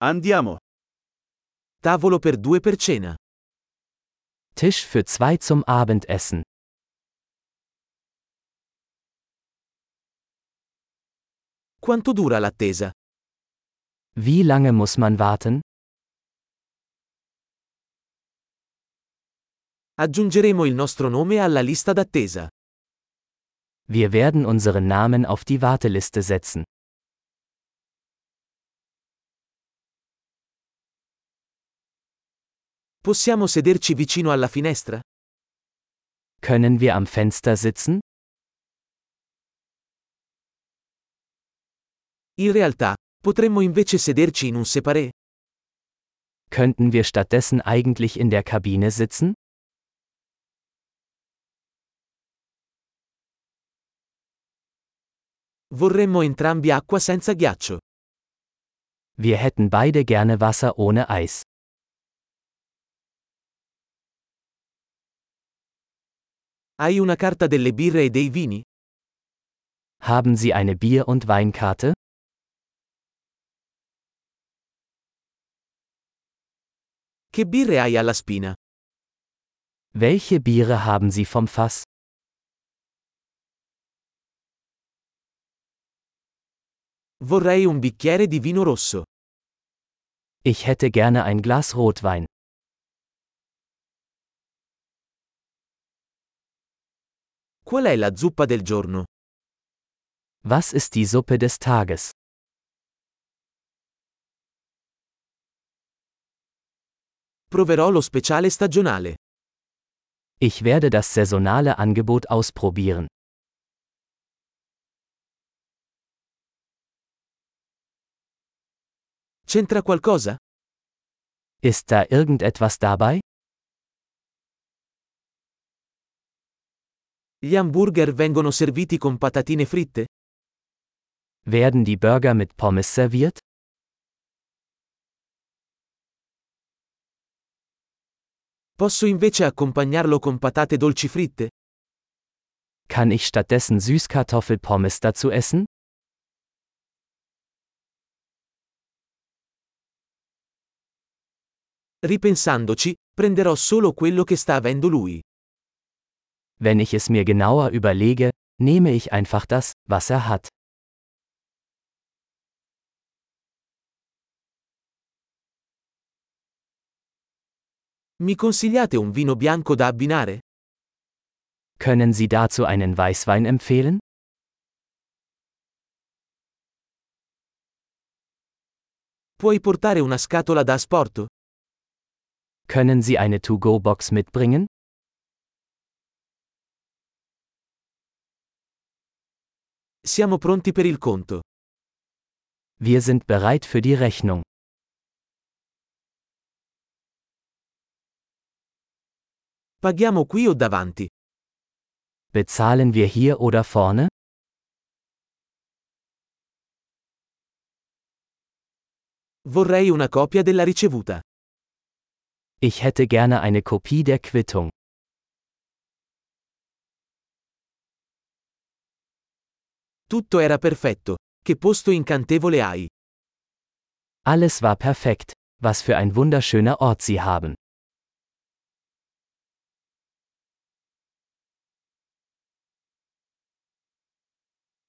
Andiamo. Tavolo per due per cena. Tisch für zwei zum Abendessen. Quanto dura l'attesa? Wie lange muss man warten? Aggiungeremo il nostro nome alla lista d'attesa. Wir werden unseren Namen auf die Warteliste setzen. Possiamo sederci vicino alla finestra? Können wir am Fenster sitzen? In realtà, potremmo invece sederci in un separé? Könnten wir stattdessen eigentlich in der Kabine sitzen? Vorremmo entrambi acqua senza ghiaccio. Wir hätten beide gerne Wasser ohne Eis. Hai una carta delle birre e dei vini? Haben Sie eine Bier- und Weinkarte? Che birre hai alla spina? Welche Biere haben Sie vom Fass? Vorrei un bicchiere di vino rosso. Ich hätte gerne ein Glas Rotwein. Qual è la zuppa del giorno? Was ist die Suppe des Tages? Proverò lo speciale stagionale. Ich werde das saisonale Angebot ausprobieren. C'entra qualcosa? Ist da irgendetwas dabei? Gli hamburger vengono serviti con patatine fritte? Werden die Burger mit Pommes serviert? Posso invece accompagnarlo con patate dolci fritte? Kann ich stattdessen Süßkartoffelpommes dazu essen? Ripensandoci, prenderò solo quello che sta avendo lui. Wenn ich es mir genauer überlege, nehme ich einfach das, was er hat. Mi consigliate un vino bianco da abbinare? Können Sie dazu einen Weißwein empfehlen? Puoi portare una scatola da asporto? Können Sie eine To-Go-Box mitbringen? Siamo pronti per il conto. Wir sind bereit für die Rechnung. Paghiamo qui o davanti? Bezahlen wir hier oder vorne? Vorrei una copia della ricevuta. Ich hätte gerne eine Kopie der Quittung. Tutto era perfetto. Che posto incantevole hai. Alles war perfekt. Was für ein wunderschöner Ort Sie haben.